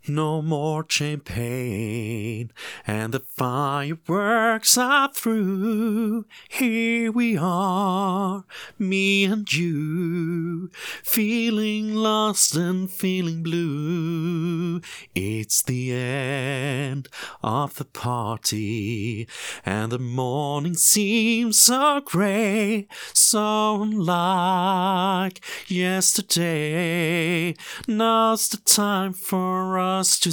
No more champagne, and the fireworks are through. Here we are, me and you, feeling lost and feeling blue. It's the end of the party, and the morning seems so grey, so unlike yesterday. Now's the time for us to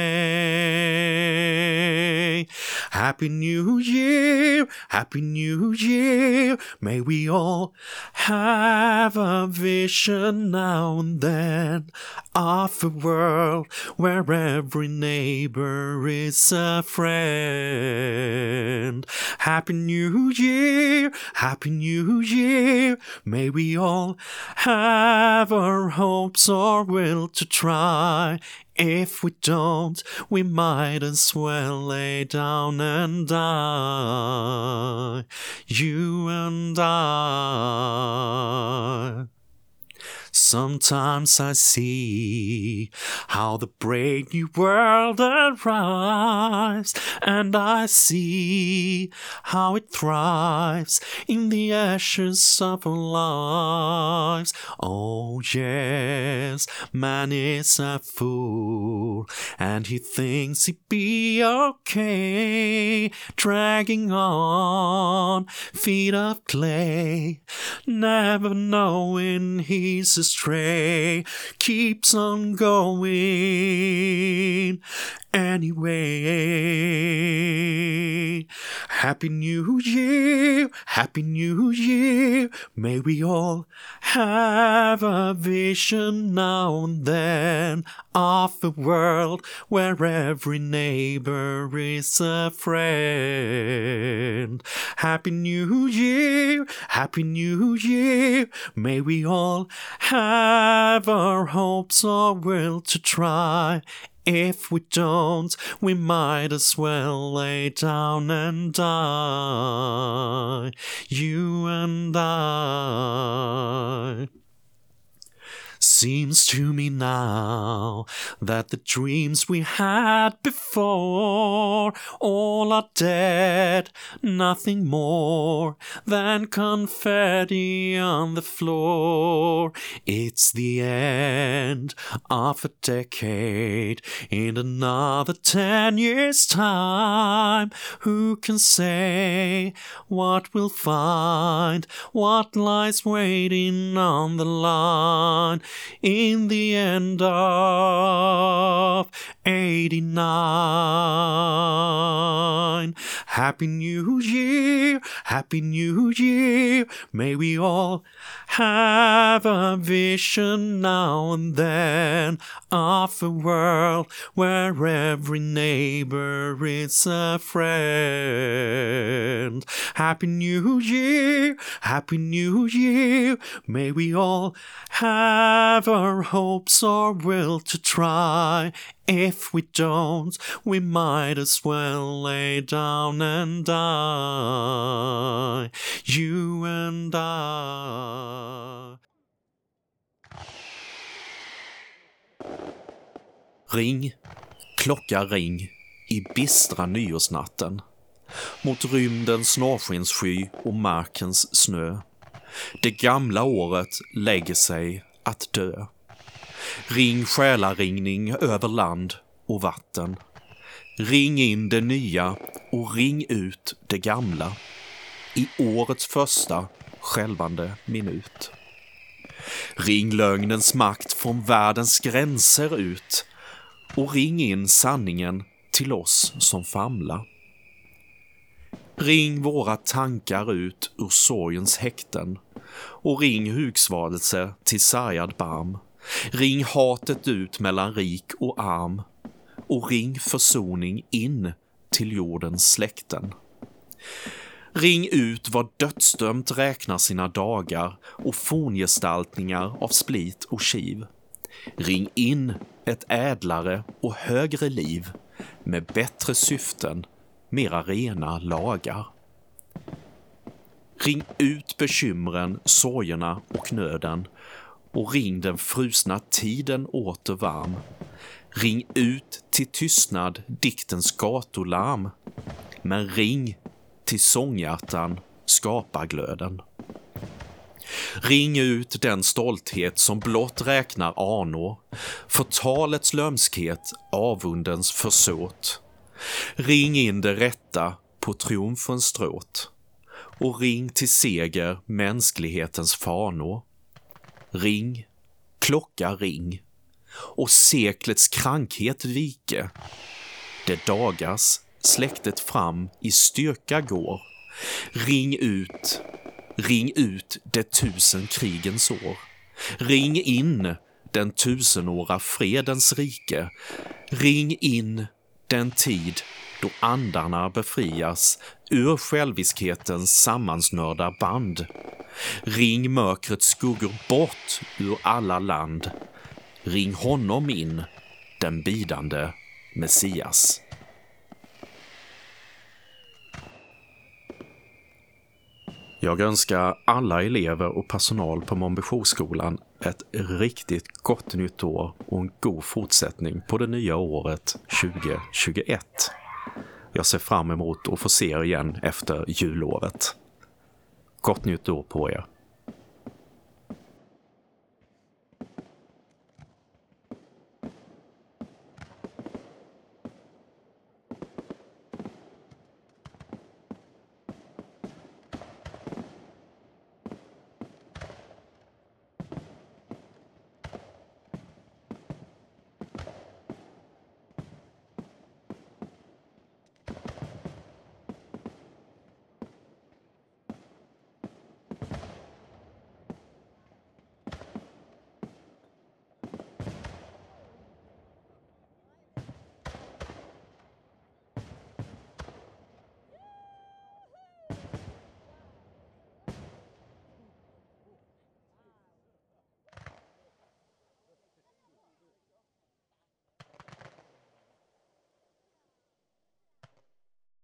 say Happy New Year, Happy New Year. May we all have a vision now and then of a world where every neighbor is a friend. Happy New Year, Happy New Year. May we all have our hopes or will to try. If we don't, we might as well lay down and die. You and I. Sometimes I see how the brave new world arrives, and I see how it thrives in the ashes of our lives. Oh yes, man is a fool, and he thinks he'd be okay, dragging on feet of clay, never knowing he's astray, keeps on going anyway. Happy New Year, Happy New Year. May we all have a vision now and then of a world where every neighbor is a friend. Happy New Year, Happy New Year. May we all have our hopes or will to try. If we don't, we might as well lay down and die. You and I. Seems to me now that the dreams we had before all are dead, nothing more than confetti on the floor. It's the end of a decade. In another 10 years' time, who can say what we'll find, what lies waiting on the line? In the end of 89. Happy New Year, Happy New Year. May we all have a vision now and then of a world where every neighbor is a friend. Happy New Year, Happy New Year. May we all have our hopes or will to try. If we don't, we might as well lay down and die. You and I. Ring, klocka ring i bistra nyårsnatten mot rymdens norrskenssky och markens snö. Det gamla året lägger sig att dö. Ring själaringning över land och vatten. Ring in det nya och ring ut det gamla i årets första skälvande minut. Ring lögnens makt från världens gränser ut och ring in sanningen till oss som famlar. Ring våra tankar ut ur sorgens häkten och ring hugsvadelse till sargad barm. Ring hatet ut mellan rik och arm och ring försoning in till jordens släkten. Ring ut vad dödsdömt räknar sina dagar och forngestaltningar av split och kiv. Ring in ett ädlare och högre liv med bättre syften, mera rena lagar. Ring ut bekymren, sorgerna och nöden och ring den frusna tiden åter varm. Ring ut till tystnad diktens gatularm, men ring till sånghjärtan skaparglöden. Ring ut den stolthet som blott räknar anor, förtalets lömskhet, avundens försåt. Ring in det rätta på triumfens stråt, och ring till seger mänsklighetens fanor. Ring, klocka ring, och seklets krankhet vike. Det dagas släktet fram i styrka går. Ring ut det 1000 krigens år. Ring in den 1000-åra fredens rike. Ring in den tid då andarna befrias ur själviskhetens sammansnörda band. Ring mörkrets skuggor bort ur alla land. Ring honom in, den bidande Messias. Jag önskar alla elever och personal på Månbyjourskolan ett riktigt gott nytt år och en god fortsättning på det nya året 2021. Jag ser fram emot att få se er igen efter jullovet. Gott nytt år på er!